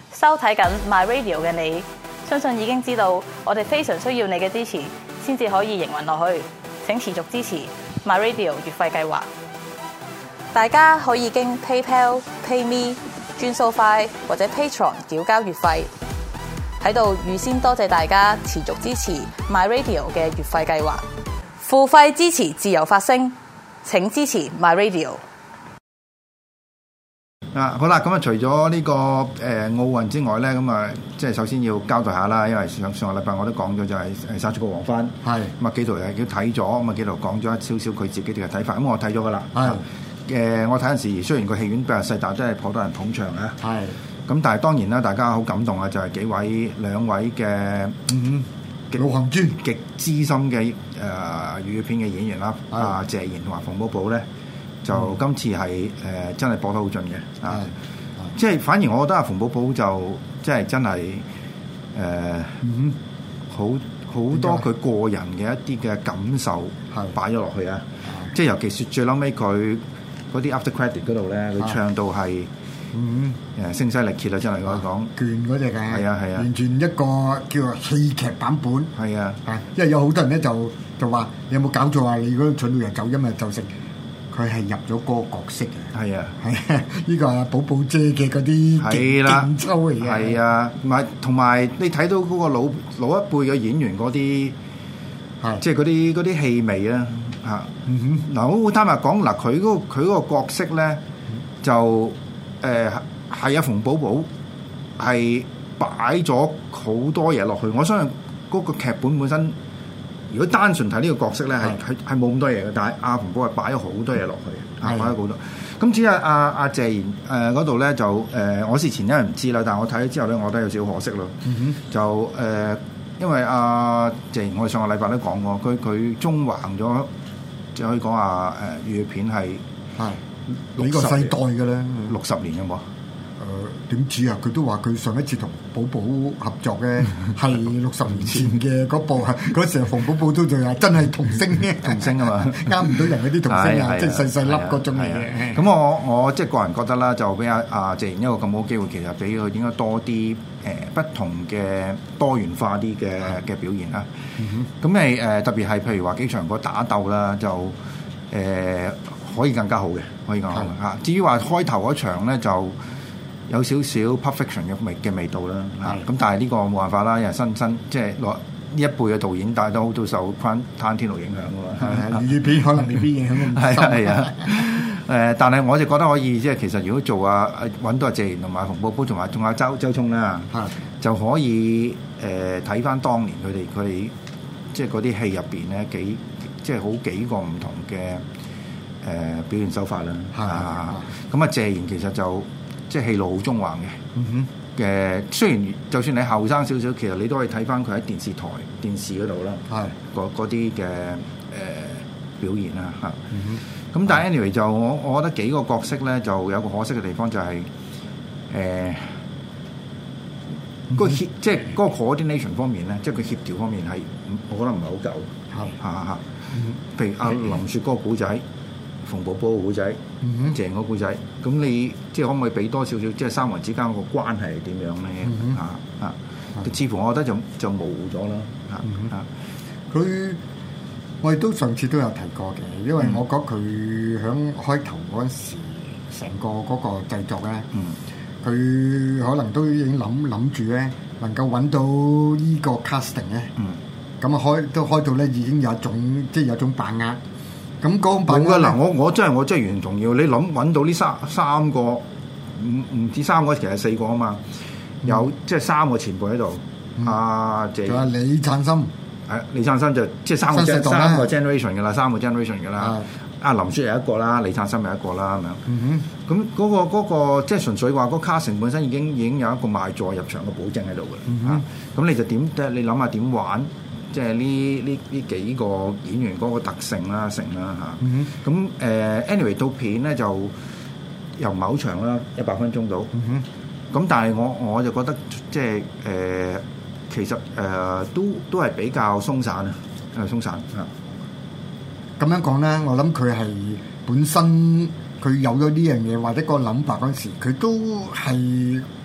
收睇緊 My Radio 嘅你，相信已經知道我哋非常需要你嘅支持，先至可以營運落去。請持續支持 My Radio 月費計劃。大家可以經 PayPal、PayMe、轉數快或者 Patreon 繳交月費。喺度預先多謝大家持續支持 My Radio 嘅月費計劃。付費支持自由發聲，請支持 My Radio。 好啦，咁啊，除咗呢個奧運之外咧，咁啊，即係首先要交代下啦，因為上個禮拜我都講咗，就係殺出個黃昏，係咁啊，紀陶係佢睇咗，咁啊，紀陶講咗一少少佢自己嘅睇法，咁我睇咗噶啦，係我睇陣時，雖然個戲院比較細，但係真係頗多人捧場啊，係咁，但係當然啦，大家好感動啊，就係兩位嘅老行尊極資深嘅粵語片嘅演員啦，阿謝賢同埋馮寶寶咧。就今次係真係播得好盡嘅啊！即係反而我覺得阿馮寶寶就即係真係好多佢個人嘅一啲嘅感受擺咗落去啊！即係尤其是最嬲尾佢嗰啲 after credit 嗰度咧，佢唱到係聲嘶力竭啊！真係可以講拳嗰隻嘅，係啊， 完全一個叫做戲劇版本係啊！因為有好多人咧就話你有冇搞錯啊？你如果蠢到人走音啊，就食。佢係入咗嗰個角色嘅，係啊，呢個阿寶寶姐嘅嗰啲勁抽嚟嘅，係啊， 同埋你睇到嗰個老一輩嘅演員嗰啲，即係嗰啲氣味啊，嚇，嗱，我好坦白講，嗱，佢嗰個角色咧，就係阿馮寶寶係擺咗好多嘢落去，我相信嗰個劇本本身。如果單純睇呢個角色咧，係冇咁多嘢嘅，但係阿馮寶係擺咗好多嘢落去，擺咗好多。咁至於阿謝賢嗰度咧，就我事前因為唔知啦，但係我睇咗之後咧，我覺得有少少可惜咯。就因為阿謝賢，我哋上個禮拜都講過，佢縱橫咗，即係可以講話粵語片係幾個世代嘅咧 ，60年有冇？ 點知啊？佢都話佢上一次同寶寶合作嘅係60年前嘅嗰部，嗰時候馮寶寶都仲係真係童星啊嘛， 啱唔到人嗰啲童星啊，即係細粒嗰種嘢。 咁我即係個人覺得啦，就俾阿謝賢一個咁好機會，其實俾佢應該多啲不同嘅多元化啲嘅表現啦。咁特別係譬如話幾場個打鬥啦，就可以更加好嘅，可以更加好嘅嚇。至於話開頭嗰場咧就。有少少 perfection 嘅味道啦，咁但係呢個冇辦法啦，因為新即係呢一輩嘅導演，但係都受攤天路影響㗎嘛。 粵語片可能未必影響咁深。 係啊，但係我就覺得可以，即係其實如果做揾到阿謝賢同埋馮寶寶同埋仲有周聰啦，就可以睇翻當年佢哋即係嗰啲戲入邊咧即係好幾個唔同嘅表現手法啦。咁啊謝賢其實就。即係戲路好縱橫嘅，雖然就算你後生少少，其實你都可以睇翻佢喺電視嗰度啦，嗰啲嘅表現啦嚇。咁但係 anyway 就我覺得幾個角色咧就有個可惜嘅地方就係即係嗰個 coordination 方面咧，即係佢協調方面係我覺得唔係好夠，譬如阿林雪嗰個古仔。馮寶寶個故仔，謝賢個故仔，咁你即係可唔可以俾多少少，即係三個人之間個關係係點樣咧？似乎我覺得就模糊咗啦。 佢我哋都上次都有提過嘅，因為我覺得佢響開頭嗰陣時，成個嗰個製作咧，佢可能都已經諗住咧，能夠揾到依個 casting 咧，咁啊開到咧已經有一種即係有種把握。咁講冇㗎嗱，我真係完全同意。你揾到呢三個唔止三個，其實4個啊嘛。有即係3個前輩喺度。阿謝， 仲有李燦森， 李燦森就即係三個 generation 㗎啦，3個 generation 㗎啦。阿林雪有一個啦，李燦森有一個啦咁樣。咁嗰個即係純粹話嗰 casting 本身已經有一個賣座入場嘅保證喺度㗎。咁你就你諗下點玩？即係呢幾個演員嗰個特性啦、成啦嚇，咁anyway 套片咧就又唔係好長啦，100分鐘到，咁但係我就覺得即係其實都係比較鬆散啊，鬆散咁樣講咧，我諗佢係本身佢有咗呢樣嘢或者個諗法嗰陣時，佢都係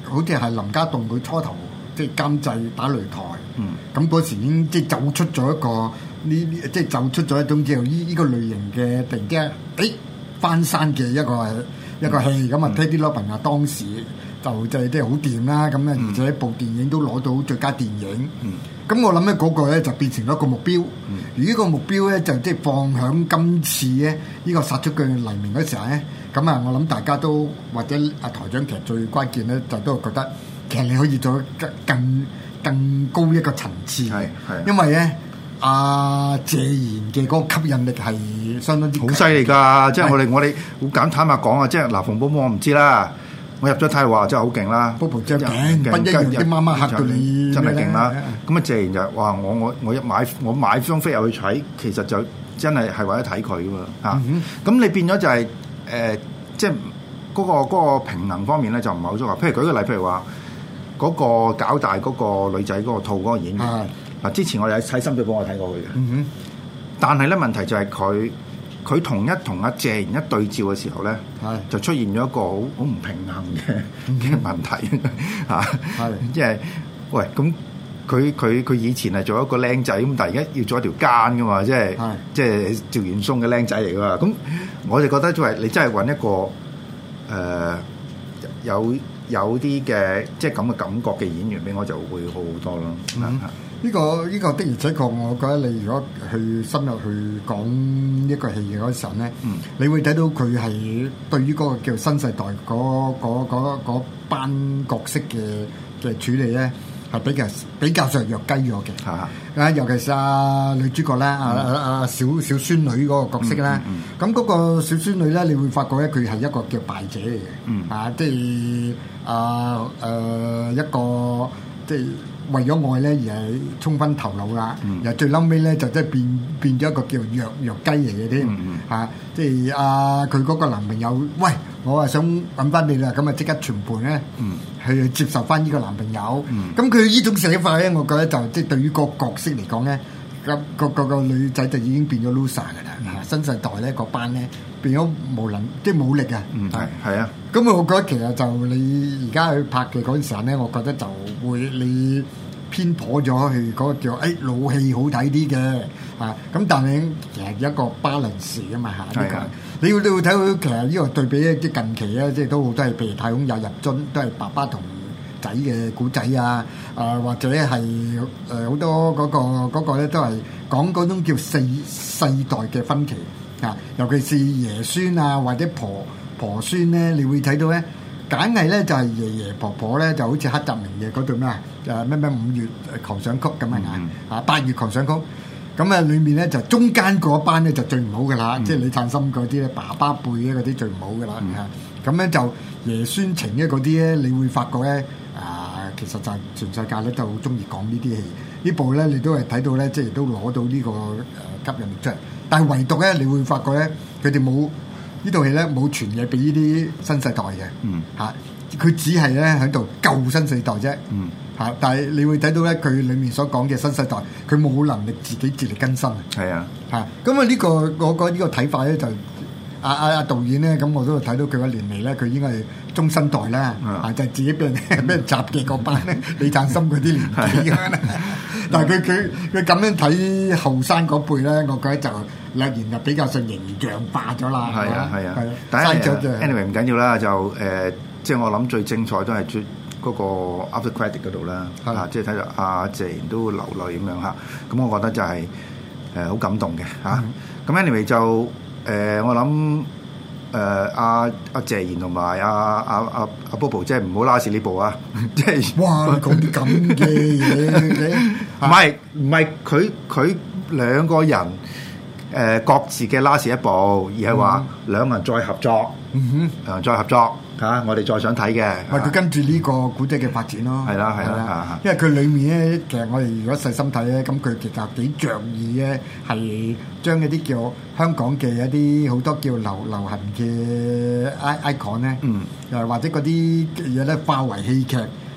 好似係林家棟佢初頭即係監製打擂台，咁嗰時已經即係走出咗一個即係走出咗一種叫呢個類型嘅突然之間翻山嘅一個戲，咁啊 Teddy Robin 啊當時就即係好掂啦，咁咧而且部電影都攞到最佳電影，咁我諗咧嗰個咧就變成咗一個目標，而呢個目標咧就即係放響今次咧呢個殺出嘅黎明嗰時候咧，咁啊我諗大家都或者阿台長其實最關鍵咧就都覺得其實你可以做更高一個層次，因為咧阿謝賢嘅嗰個吸引力係相當之好犀利㗎，即係我哋好坦白講啊，即係嗱馮寶寶我唔知啦。我入咗睇話真係好勁啦， 波波張鏡不一樣啲媽媽嚇到你真係勁啦！咁啊謝賢就話我買張飛入去睇，其實就真係為咗睇佢㗎嘛嚇。咁你變咗就係即係嗰個平衡方面咧就唔係好足夠。譬如舉個例，譬如話嗰個搞大嗰個女仔嗰個套嗰個演員嗱，之前我哋喺深水埗我睇過佢嘅，但係咧問題就係佢同阿謝賢一對照嘅時候咧，就出現咗一個好唔平衡嘅問題嚇，即係喂咁佢以前係做一個僆仔咁，但係而家要做一條奸噶嘛，即係趙元松嘅僆仔嚟噶嘛，咁我就覺得作為你真係揾一個有啲嘅即係咁嘅感覺嘅演員俾我就會好好多咯。 呢個的而且確，我覺得你如果去深入去講一個戲嘅嗰時候咧，你會睇到佢係對於嗰個叫新世代嗰班角色嘅處理咧，係比較上弱雞咗嘅。尤其是女主角啦，小孫女嗰個角色啦，咁嗰個小孫女咧，你會發覺咧，佢係一個叫敗者嚟嘅，即係一個即係。為咗愛咧而係衝昏頭腦啦，又最嬲尾咧就即係變咗一個叫弱雞嚟嘅添嚇，即係佢嗰個男朋友，喂，我啊想揾翻你啦，咁啊即刻全盤咧去接受翻呢個男朋友，咁佢呢種寫法咧，我覺得就即係對於個角色嚟講咧，個女仔就已經變咗 loser 㗎啦，新世代咧嗰班咧變咗即係冇力啊， 係啊。 咁我覺得其實就你而家去拍嘅嗰陣時候咧，我覺得就會你偏頗咗去嗰個叫老戲好睇啲嘅咁但係其實一個 balance 㗎嘛嚇，呢個你會睇到其實呢個對比咧，即係近期咧，即係都好多係譬如太空也入樽，都係爸爸同仔嘅古仔啊，或者係好多嗰個咧都係講嗰種叫世代嘅分歧尤其是爺孫啊或者婆孫咧，你會睇到咧，簡係咧就係爺爺婆婆咧，就好似黑澤明嘅嗰度咩咩5月狂想曲咁8月狂想曲，咁啊裏面咧就中間嗰班咧就最唔好噶啦，即係李燦森嗰啲咧，爸爸輩咧嗰啲最唔好噶啦咁咧就爺孫情嘅嗰啲咧，你會發覺咧其實就係全世界咧都好中意講呢啲戲，呢部咧你都係睇到咧，即係都攞到呢個吸引力出嚟，但係唯獨咧你會發覺咧，佢哋冇。呢套戲咧冇傳嘢俾呢啲新世代嘅，佢只係咧喺度救新世代啫，但係你會睇到咧，佢裡面所講嘅新世代，佢冇能力自己自力更生係啊， 咁呢個我覺得呢個睇法咧就阿導演咧，咁我都睇到佢嘅年齡咧，佢應該係中生代啦，就係自己俾人襲嘅嗰班咧，李燦森嗰啲年紀但係佢咁樣睇後生嗰輩咧，我覺得就突然就比較上形象化咗啦。 係啊，但係 anyway 唔緊要啦，就即係我諗最精彩都係嗰個 after credit 嗰度啦，即係睇到阿謝賢都流淚咁樣嚇，咁我覺得就係好感動嘅嚇。咁 anyway 就我諗阿謝賢同埋阿 Bobo 即係唔好拉屎呢部啊！即係哇講啲咁嘅嘢， 唔係佢兩個人各自嘅拉屎一部，而係話兩個人再合作，再合作我哋再想睇嘅。 佢跟住呢個古仔嘅發展咯， 係啦， 因為佢裡面咧，其實我哋如果細心睇咧，咁佢其實幾着意咧，係將一啲叫香港嘅一啲好多叫流行嘅 icon 咧，或者嗰啲嘢咧化為戲劇，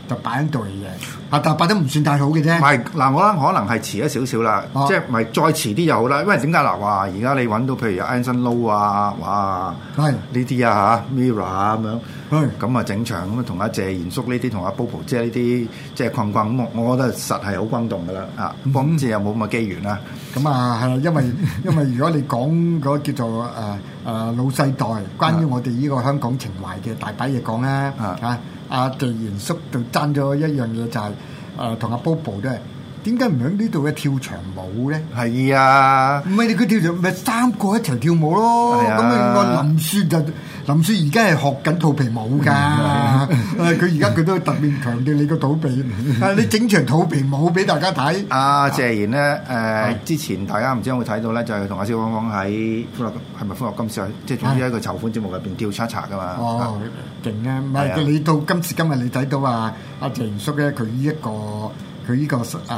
就擺喺度嚟嘅，但係擺得唔算太好嘅啫。 唔係嗱，我覺得可能係遲咗少少啦，即係咪再遲啲就好啦？因為點解嗱話而家你揾到譬如有 Anson Lo 啊，哇， 係呢啲啊嚇 Mirror 咁樣， 係咁啊整場咁啊同阿謝賢叔呢啲同阿 Bobo 姐呢啲即係困咁，我覺得實係好轟動噶啦啊！今次有冇咁嘅機緣啦？ 咁啊係，因為如果你講嗰叫做老世代，關於我哋呢個香港情懷嘅大把嘢講啦嚇。阿謝賢叔就爭咗一樣嘢，就係同阿 Bobo 都係點解唔喺呢度嘅跳長舞咧？ 係啊， 唔係你佢跳長，咪三個一齊跳舞咯。咁啊，林雪而家係學緊肚皮舞㗎。佢而家佢都特別強調你個肚皮，你整場肚皮舞俾大家睇。 阿謝賢咧之前大家唔知有冇睇到咧，就係同阿蕭芳芳喺歡樂係咪歡樂今宵，即係總之一個籌款節目入邊跳 cha cha 㗎嘛。 哦，勁啊！唔係你到今時今日你睇到阿謝賢叔咧，佢呢個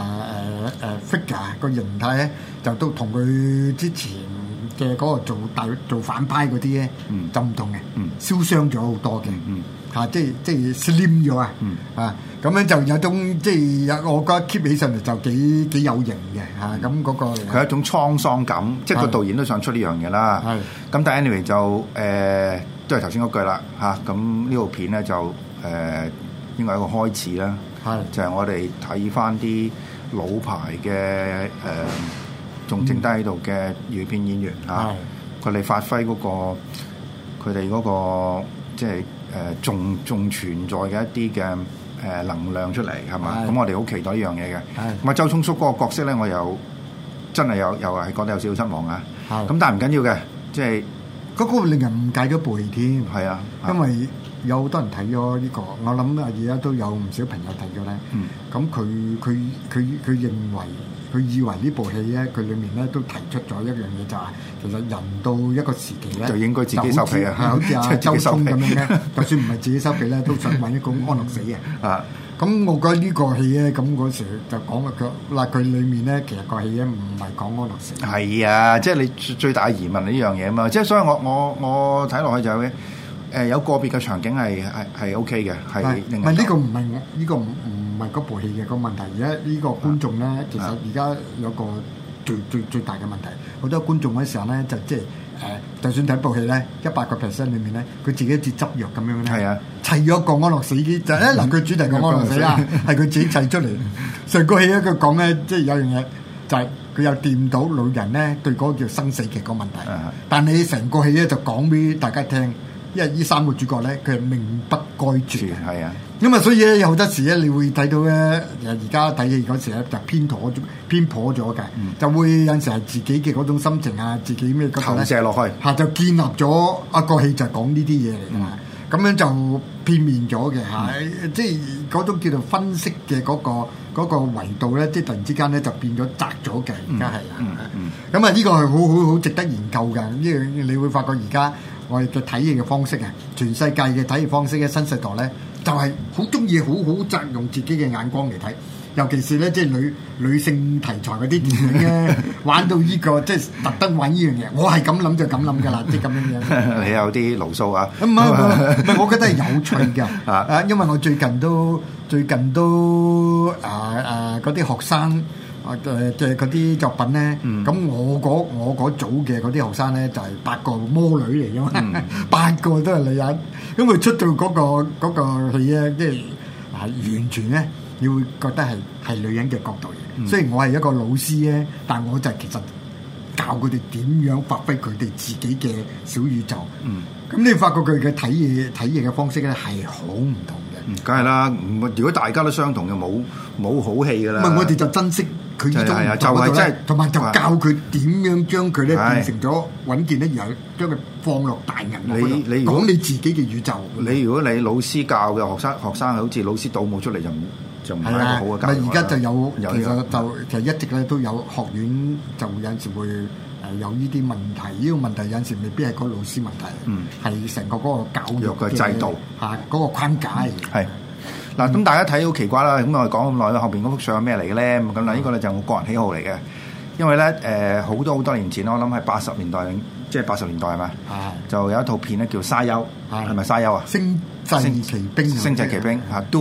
figure 個形態咧，就都同佢之前嘅嗰個做反派嗰啲咧，就唔同嘅，燒傷咗好多嘅，嚇，即係 slim 咗啊，咁樣就有種即係我覺得 keep 起上嚟就幾有型嘅嚇，咁嗰個佢係一種滄桑感，即係個導演都想出呢樣嘢啦。咁但係 anyway 就都係頭先嗰句啦嚇，咁呢部片咧就應該係一個開始啦，就係我哋睇翻啲老牌嘅仲剩低喺度嘅粵語片演員嚇，佢哋發揮嗰個佢哋嗰個即係仲存在嘅一啲嘅能量出嚟係嘛？咁我哋好期待呢樣嘢嘅。咁啊，周聰叔嗰個角色咧，我又真係又係覺得有少少失望啊。咁但係唔緊要嘅，即係嗰個令人誤解咗部戲添。 係啊， 因為有好多人睇咗呢個，我諗而家都有唔少朋友睇咗咧。咁佢認為。佢以為呢部戲咧，佢裡面咧都提出咗一樣嘢，就係其實人到一個時期咧， 就應該自己收皮啊！ 好似阿周聰咁樣咧，就算唔係自己收皮咧，都想揾一個安樂死嘅。咁我覺得呢個戲咧，咁嗰時就講佢裡面咧，其實個戲咧唔係講安樂死。係啊，即係你最大疑問係呢樣嘢啊嘛！即係所以我睇落去就係有個別嘅場景係 OK 嘅，係唔係呢個唔係呢個唔係嗰部戲嘅個問題，而家呢個觀眾咧，其實而家有個最大嘅問題，好多觀眾嗰時候咧就即係就算睇部戲咧100% 裏面咧，佢自己好似執藥咁樣咧，砌咗個安樂死機就嗱佢主題個安樂死啦，係佢自己砌出嚟。成個戲咧佢講咧，即係有樣嘢就係佢有掂到老人咧對嗰個叫生死嘅個問題，但你成個戲咧就講俾大家聽。因為呢三個主角咧，佢係命不該絕，係啊。咁啊，所以咧有好多時咧，你會睇到咧，而家睇戲嗰時咧就偏頗咗嘅，就會有陣時係自己嘅嗰種心情啊，自己咩嗰度咧投射落去，就建立咗一個戲就講呢啲嘢嚟㗎嘛。咁樣就片面咗嘅嚇，即係嗰種叫做分析嘅嗰個維度咧，即係突然之間咧就變咗窄咗嘅。而家係咁啊，呢個係好值得研究㗎。呢樣你會發覺而家。我哋嘅睇戲嘅方式啊，全世界嘅睇戲方式嘅新世代咧，就係好中意好擇用自己嘅眼光嚟睇，尤其是咧即係女性題材嗰啲電影咧，玩到呢個即係特登玩呢樣嘢，我係咁諗就咁諗㗎啦，即係咁樣樣。你有啲牢騷啊？唔係，我覺得係有趣㗎。因為我最近都嗰啲學生。嘅嗰啲作品咧，咁我嗰組嘅嗰啲學生咧就係8個魔女嚟㗎嘛，8個都係女人，咁佢出到嗰個戲咧，即係完全咧，你會覺得係女人嘅角度嘅。雖然我係一個老師咧，但我就其實教佢哋點樣發揮佢哋自己嘅小宇宙。咁你發覺佢嘅睇嘢嘅方式咧係好唔同嘅。梗係啦，如果大家都相同嘅，冇好戲㗎啦。唔係我哋就珍惜。佢呢種就係即係，同埋就教佢點樣將佢咧變成咗穩健咧，然後將佢放落大銀幕嗰度，講你自己嘅宇宙。如果你老師教嘅學生好似老師倒模出嚟就唔係一個好嘅教育。而家就有其實一直咧都有學院就有陣時會有呢啲問題。呢個問題有陣時未必係個老師問題，係成個嗰個教育嘅制度嗰個框架係。嗱，咁大家睇好奇怪啦，咁我哋講咁耐啦，後邊嗰幅相係咩嚟嘅咧？咁嗱，呢個咧就係我個人喜好嚟嘅，因為咧好多年前我諗係80年代，即係80年代係咪？就有一套片咧叫《沙丘》，係咪《沙丘》啊？星際奇兵嚇 Dune。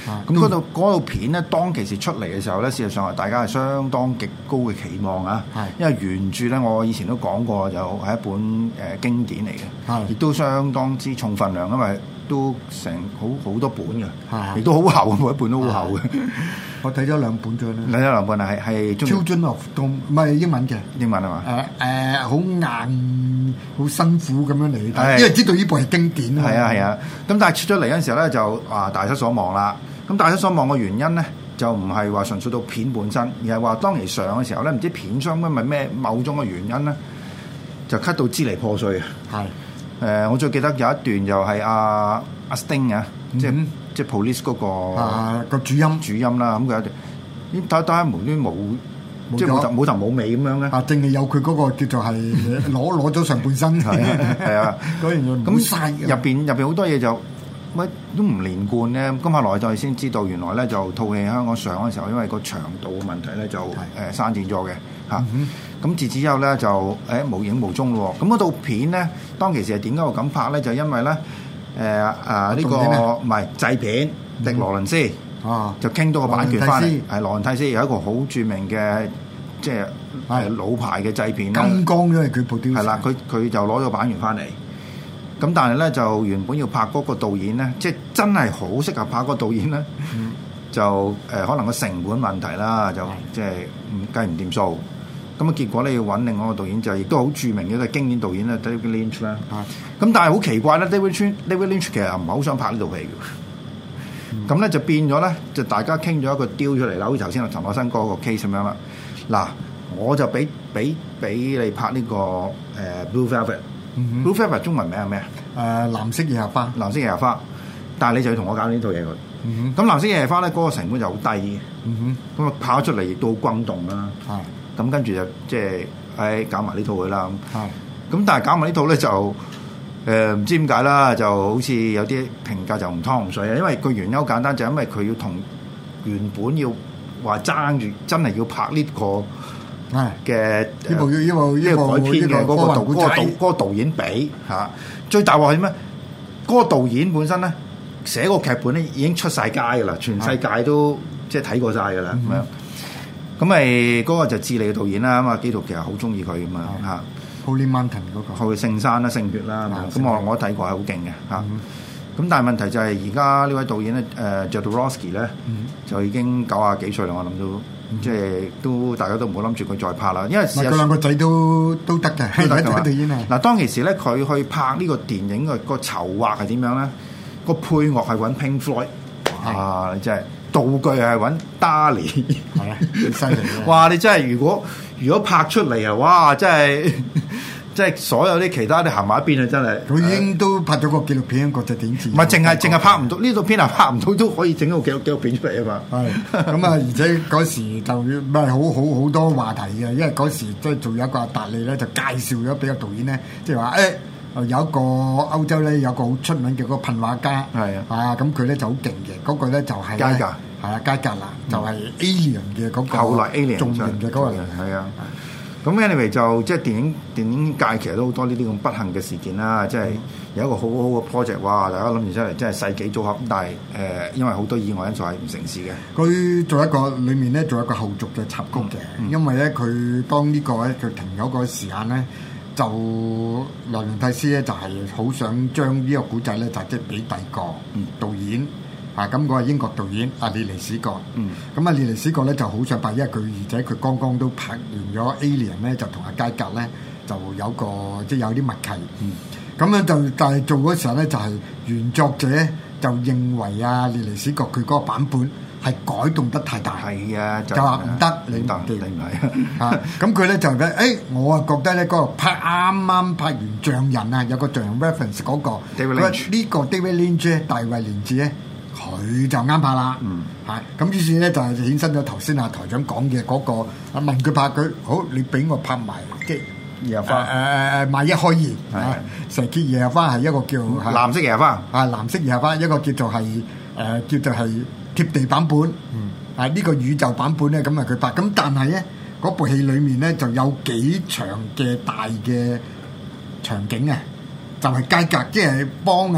咁嗰套片咧，當其時出嚟嘅時候咧，事實上係大家係相當極高嘅期望啊。因為原著咧，我以前都講過，就係一本經典嚟嘅，亦都相當之重份量，因為都成好多本嘅，亦都好厚，每一本都好厚嘅。 我睇咗2本咗啦。 睇咗2本啊，係 Children of Dome，唔係英文嘅。 英文係嘛？ 好硬，好辛苦咁樣嚟睇，因為知道呢部係經典啊。 係啊。咁但係出咗嚟嗰陣時候咧，就大失所望啦。咁大失所望嘅原因咧，就唔係話純粹到片本身，而係話當其上嘅時候咧，唔知片商因為咩某種嘅原因咧，就 cut 到支離破碎啊。係。我最記得有一段就係阿 Sting 啊，即係 Police 嗰個主音啦。咁佢有段睇睇無端冇，即係冇頭冇尾咁樣咧。 淨係有佢嗰個叫做係攞咗上半身。 係啊， 嗰樣嘢咁入邊好多嘢就乜都唔連貫咧。咁後來就先知道原來咧就套戲香港上嘅時候，因為個長度嘅問題咧就刪剪咗嘅嚇。咁自此之後咧就無影無蹤咯。咁嗰套片咧當其時係點解會咁拍咧？就因為咧呢個唔係製片迪羅倫斯就傾到個版權翻嚟，係羅倫蒂斯有一個好著名嘅即係老牌嘅製片啦。 金剛因為佢部電視係啦，佢就攞咗版權翻嚟。咁但係咧就原本要拍嗰個導演咧，即係真係好適合拍嗰個導演咧，就可能個成本問題啦，就即係計唔掂數。咁啊結果咧要揾另外一個導演，就亦都好著名嘅一個經典導演咧 David Lynch 啦。咁但係好奇怪咧 David Lynch 其實唔係好想拍呢套戲嘅。咁咧就變咗咧，就大家傾咗一個 deal 出嚟啦，好似頭先陳可辛嗰個 case 咁樣啦。嗱，我就俾你拍呢個Blue Velvet。Blue Velvet 中文名係咩啊？ 藍色夜花。 藍色夜花，但係你就要同我搞呢套嘢佢。咁藍色夜花咧嗰個成本就好低嘅。咁啊拍咗出嚟亦都好轟動啦。咁跟住就即係搞埋呢套佢啦。咁但係搞埋呢套咧就唔知點解啦，就好似有啲評價就唔湯唔水啊。因為個原因好簡單，就係因為佢要同原本要話爭住真係要拍呢個嘅呢個改編嘅嗰個導演比嚇。最大鑊係咩？嗰個導演本身咧寫個劇本咧已經出晒街㗎啦，全世界都即係睇過晒㗎啦咁樣。咁咪嗰個就智利嘅導演啦，咁啊基督其實好中意佢咁啊嚇。 Holy Mountain 嗰個， 聖山啦、聖血啦，咁我都睇過係好勁嘅嚇。咁但係問題就係而家呢位導演咧Jodorowsky 咧就已經90幾歲啦，我諗都即係都大家都唔好諗住佢再拍啦，因為佢兩個仔都得嘅，導演啊。 嗱當其時咧，佢去拍呢個電影嘅個籌劃係點樣咧？個配樂係揾 Pink Floyd，你真係道具係揾 Dali， 係啊，犀利啊！ 哇！你真係如果拍出嚟啊，哇！真係即係所有啲其他啲行埋一邊啊！真係佢已經都拍咗個紀錄片，國際電視。 唔係淨係拍唔到呢套片係拍唔到都可以整到紀錄片出嚟啊嘛！ 係咁啊！而且嗰時就唔係好多話題嘅，因為嗰時即係仲有一個阿達利咧，就介紹咗俾個導演咧，即係話有一個歐洲咧有個好出名嘅嗰個噴畫家，咁佢咧就好勁嘅，嗰個咧就係佳格， 佳格啦，就係 Alien 嘅嗰個， 後來 Alien 重型嘅嗰個係啊。咁 anyway 就即係電影界其實都好多呢啲咁不幸嘅事件啦，即係有一個好好嘅 project， 哇！大家諗住出嚟真係世紀組合，但係因為好多意外因素係唔成事嘅。佢做一個裡面咧做一個後續嘅插曲嘅，因為咧佢當呢個咧佢停咗個時間咧。就羅倫蒂斯咧就係好想將呢個古仔咧就即係俾第二個導演咁嗰個英國導演阿列尼史葛，咁阿列尼史葛咧就好想拍，因為佢而且佢剛剛都拍完咗 Alien 咧，就同阿佳格咧就有個即係有啲默契，咁樣就但係做嗰時候咧就係原作者就認為阿列尼史葛佢嗰個版本係改動得太大， 係啊， 就話唔得，你唔係啊！咁佢咧就咧，我啊覺得咧嗰個啱啱拍完象人啊，有個象人 reference 嗰個，呢個 David Lynch 大衛連治咧，佢就啱拍啦，咁於是咧就係衍生咗頭先啊台長講嘅嗰個，問佢拍佢好，你俾我拍埋即係夜花萬一開二，成結夜花係一個叫藍色夜花， 藍色夜花一個叫做係貼地版本，呢個宇宙版本咧，咁啊佢拍，咁但係咧嗰部戲裡面咧就有幾場嘅大嘅場景啊，就係佳格即係幫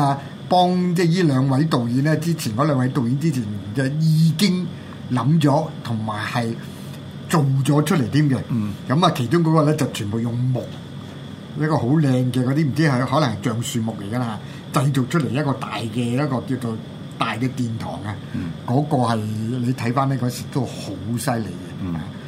幫即係呢兩位導演咧，之前嗰兩位導演之前就已經諗咗同埋係做咗出嚟添嘅。咁啊，其中嗰個咧就全部用木一個好靚嘅嗰啲唔知係可能係橡樹木嚟㗎啦，製造出嚟一個大嘅一個叫做大嘅殿堂啊。嗰個係你睇翻呢嗰時都好犀利嘅。